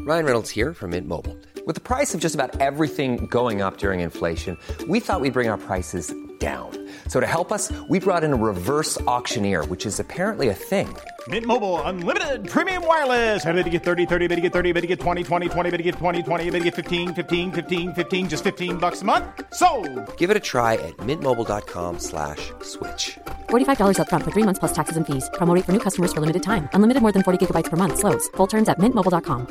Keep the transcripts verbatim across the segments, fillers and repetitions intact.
Ryan Reynolds here from Mint Mobile. With the price of just about everything going up during inflation, we thought we'd bring our prices down. So to help us, we brought in a reverse auctioneer, which is apparently a thing. Mint Mobile Unlimited Premium Wireless. How to get thirty, thirty, how to get thirty, how to get twenty, twenty, twenty, how to get twenty, twenty, how to get fifteen, fifteen, fifteen, fifteen, just fifteen bucks a month? Sold! Give it a try at mintmobile.com slash switch. forty-five dollars up front for three months plus taxes and fees. Promo rate for new customers for limited time. Unlimited more than forty gigabytes per month. Slows full terms at mint mobile dot com.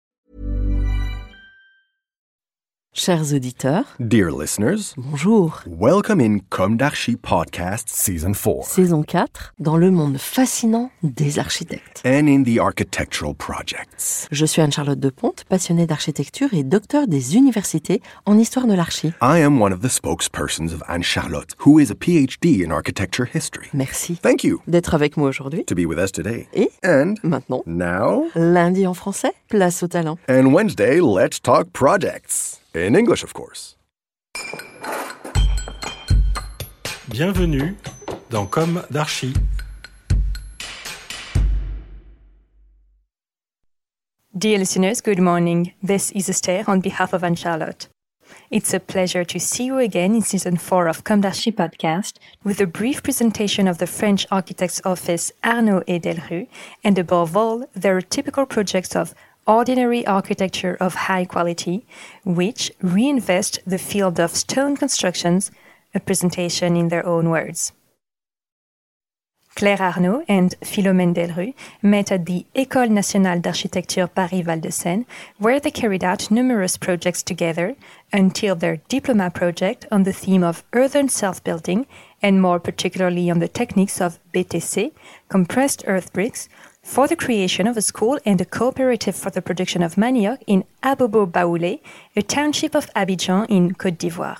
Chers auditeurs, dear listeners, bonjour. Welcome in Comme d'Archi Podcast Season four. Saison quatre, dans le monde fascinant des architectes. And in the architectural projects. Je suis Anne-Charlotte Deponte, passionnée d'architecture et docteur des universités en histoire de l'archi. I am one of the spokespersons of Anne-Charlotte, who is a P H D in architecture history. Merci. Thank you. D'être avec moi aujourd'hui. To be with us today. Et And maintenant, now, lundi en français, place au talent. And Wednesday, let's talk projects. In English, of course. Bienvenue dans Comme d'Archi. Dear listeners, good morning. This is Esther on behalf of Anne-Charlotte. It's a pleasure to see you again in season four of Comme d'Archi podcast with a brief presentation of the French architect's office Arnaud et Delrue and above all, their typical projects of ordinary architecture of high quality, which reinvest the field of stone constructions, a presentation in their own words. Claire Arnaud and Philomène Delrue met at the École Nationale d'Architecture Paris-Val de Seine, where they carried out numerous projects together until their diploma project on the theme of earthen self-building, and more particularly on the techniques of B T C, compressed earth bricks, for the creation of a school and a cooperative for the production of manioc in Abobo-Baoulé, a township of Abidjan in Côte d'Ivoire.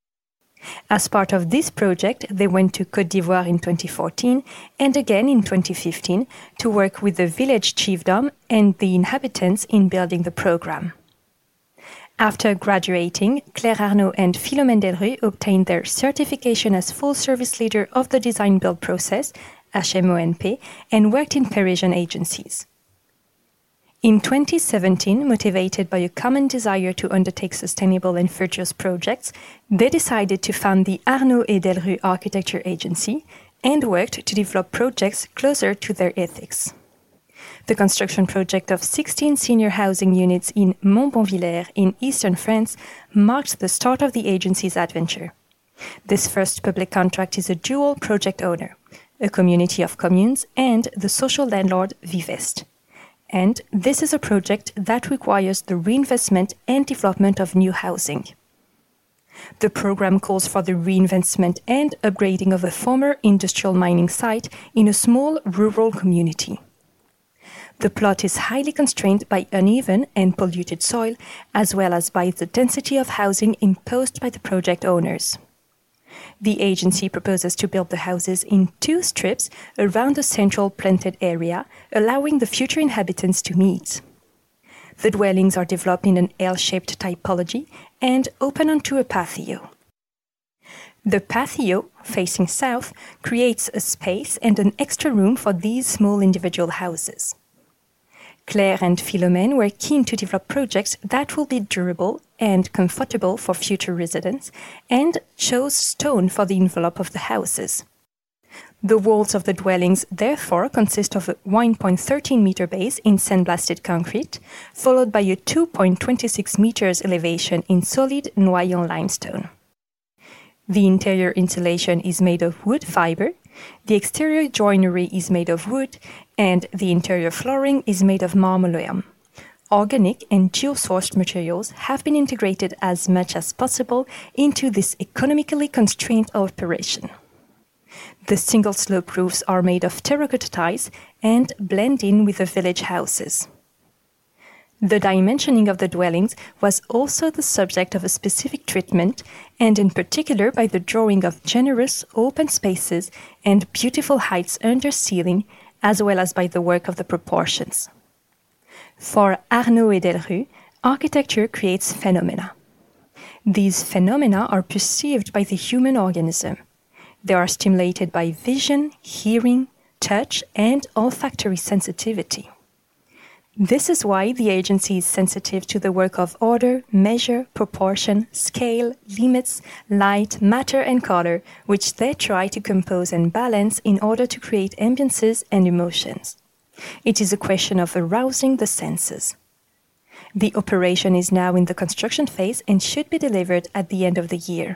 As part of this project, they went to Côte d'Ivoire in twenty fourteen and again in twenty fifteen to work with the village chiefdom and the inhabitants in building the program. After graduating, Claire Arnaud and Philomène Delrue obtained their certification as full service leader of the design-build process, H M O N P, and worked in Parisian agencies. In twenty seventeen, motivated by a common desire to undertake sustainable and virtuous projects, they decided to found the Arnaud et Delrue Architecture Agency and worked to develop projects closer to their ethics. The construction project of sixteen senior housing units in Montbonvillers in eastern France marked the start of the agency's adventure. This first public contract is a dual project owner, a community of communes, and the social landlord Vivest. And this is a project that requires the reinvestment and development of new housing. The program calls for the reinvestment and upgrading of a former industrial mining site in a small rural community. The plot is highly constrained by uneven and polluted soil, as well as by the density of housing imposed by the project owners. The agency proposes to build the houses in two strips around a central planted area, allowing the future inhabitants to meet. The dwellings are developed in an L-shaped typology and open onto a patio. The patio, facing south, creates a space and an extra room for these small individual houses. Claire and Philomène were keen to develop projects that will be durable and comfortable for future residents, and chose stone for the envelope of the houses. The walls of the dwellings therefore consist of a one point one three meter base in sandblasted concrete, followed by a two point two six meters elevation in solid Noyon limestone. The interior insulation is made of wood fiber, the exterior joinery is made of wood, and the interior flooring is made of marmoleum. Organic and geosourced materials have been integrated as much as possible into this economically constrained operation. The single-slope roofs are made of terracotta tiles and blend in with the village houses. The dimensioning of the dwellings was also the subject of a specific treatment, and in particular by the drawing of generous open spaces and beautiful heights under ceiling, as well as by the work of the proportions. For Arnaud et Delrue, architecture creates phenomena. These phenomena are perceived by the human organism. They are stimulated by vision, hearing, touch, and olfactory sensitivity. This is why the agency is sensitive to the work of order, measure, proportion, scale, limits, light, matter, and color, which they try to compose and balance in order to create ambiances and emotions. It is a question of arousing the senses. The operation is now in the construction phase and should be delivered at the end of the year.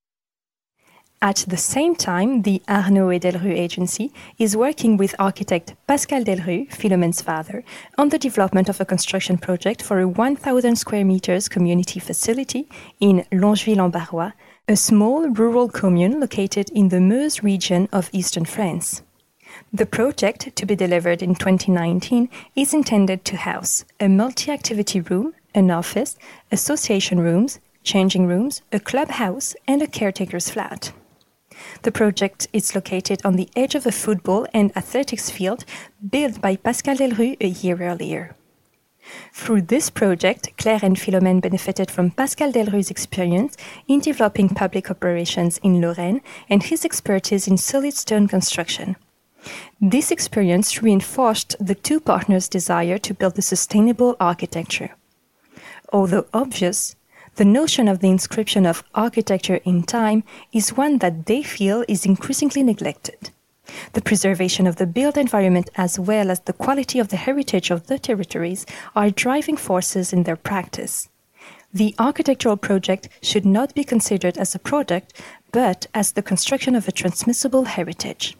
At the same time, the Arnaud et Delrue agency is working with architect Pascal Delrue, Philomene's father, on the development of a construction project for a one thousand square meters community facility in Longeville-en-Barrois, a small rural commune located in the Meuse region of eastern France. The project, to be delivered in twenty nineteen, is intended to house a multi-activity room, an office, association rooms, changing rooms, a clubhouse, and a caretaker's flat. The project is located on the edge of a football and athletics field built by Pascal Delrue a year earlier. Through this project, Claire and Philomene benefited from Pascal Delrue's experience in developing public operations in Lorraine and his expertise in solid stone construction. This experience reinforced the two partners' desire to build a sustainable architecture. Although obvious, the notion of the inscription of architecture in time is one that they feel is increasingly neglected. The preservation of the built environment as well as the quality of the heritage of the territories are driving forces in their practice. The architectural project should not be considered as a product, but as the construction of a transmissible heritage.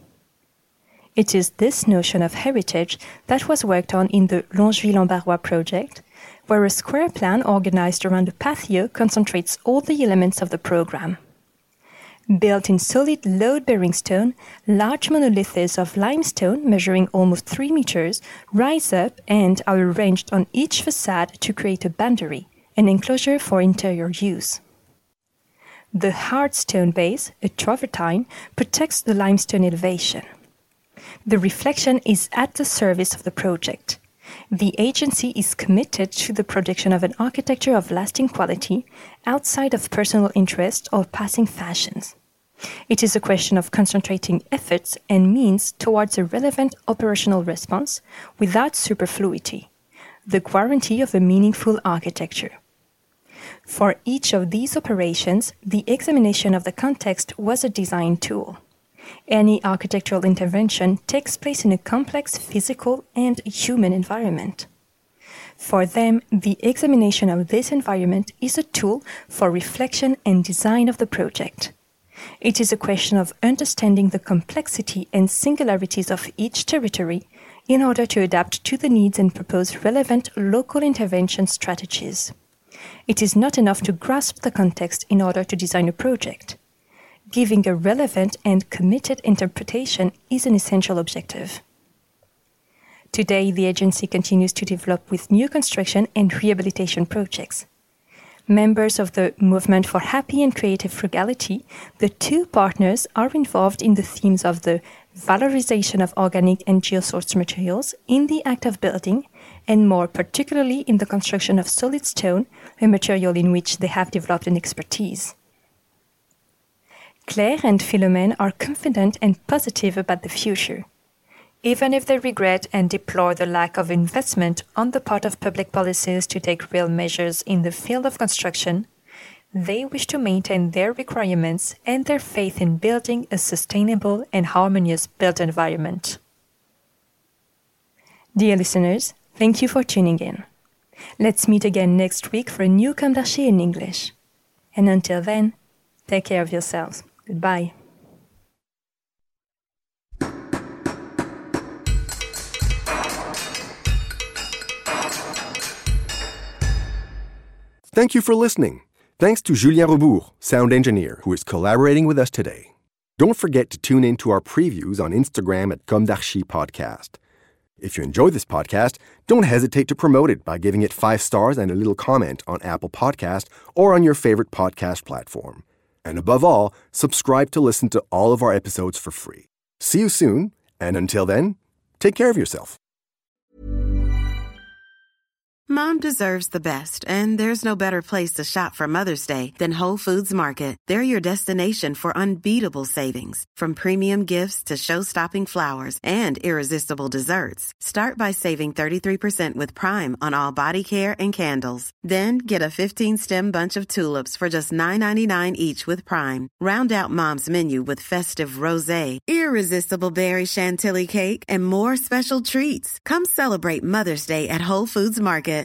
It is this notion of heritage that was worked on in the Longeville-en-Barrois project, where a square plan organized around a patio concentrates all the elements of the program. Built in solid load-bearing stone, large monoliths of limestone measuring almost three meters rise up and are arranged on each facade to create a boundary, an enclosure for interior use. The hard stone base, a travertine, protects the limestone elevation. The reflection is at the service of the project. The agency is committed to the production of an architecture of lasting quality, outside of personal interest or passing fashions. It is a question of concentrating efforts and means towards a relevant operational response without superfluity, the guarantee of a meaningful architecture. For each of these operations, the examination of the context was a design tool. Any architectural intervention takes place in a complex physical and human environment. For them, the examination of this environment is a tool for reflection and design of the project. It is a question of understanding the complexity and singularities of each territory in order to adapt to the needs and propose relevant local intervention strategies. It is not enough to grasp the context in order to design a project. Giving a relevant and committed interpretation is an essential objective. Today, the agency continues to develop with new construction and rehabilitation projects. Members of the Movement for Happy and Creative Frugality, the two partners are involved in the themes of the valorization of organic and geosourced materials in the act of building, and more particularly in the construction of solid stone, a material in which they have developed an expertise. Claire and Philomene are confident and positive about the future. Even if they regret and deplore the lack of investment on the part of public policies to take real measures in the field of construction, they wish to maintain their requirements and their faith in building a sustainable and harmonious built environment. Dear listeners, thank you for tuning in. Let's meet again next week for a new Comme d'Archi in English. And until then, take care of yourselves. Goodbye. Thank you for listening. Thanks to Julien Rebourg, sound engineer, who is collaborating with us today. Don't forget to tune in to our previews on Instagram at Comme d'Archi Podcast. If you enjoy this podcast, don't hesitate to promote it by giving it five stars and a little comment on Apple Podcast or on your favorite podcast platform. And above all, subscribe to listen to all of our episodes for free. See you soon, and until then, take care of yourself. Mom deserves the best, and there's no better place to shop for Mother's Day than Whole Foods Market. They're your destination for unbeatable savings, from premium gifts to show-stopping flowers and irresistible desserts. Start by saving thirty-three percent with Prime on all body care and candles. Then get a fifteen-stem bunch of tulips for just nine ninety-nine each with Prime. Round out Mom's menu with festive rosé, irresistible berry chantilly cake, and more special treats. Come celebrate Mother's Day at Whole Foods Market.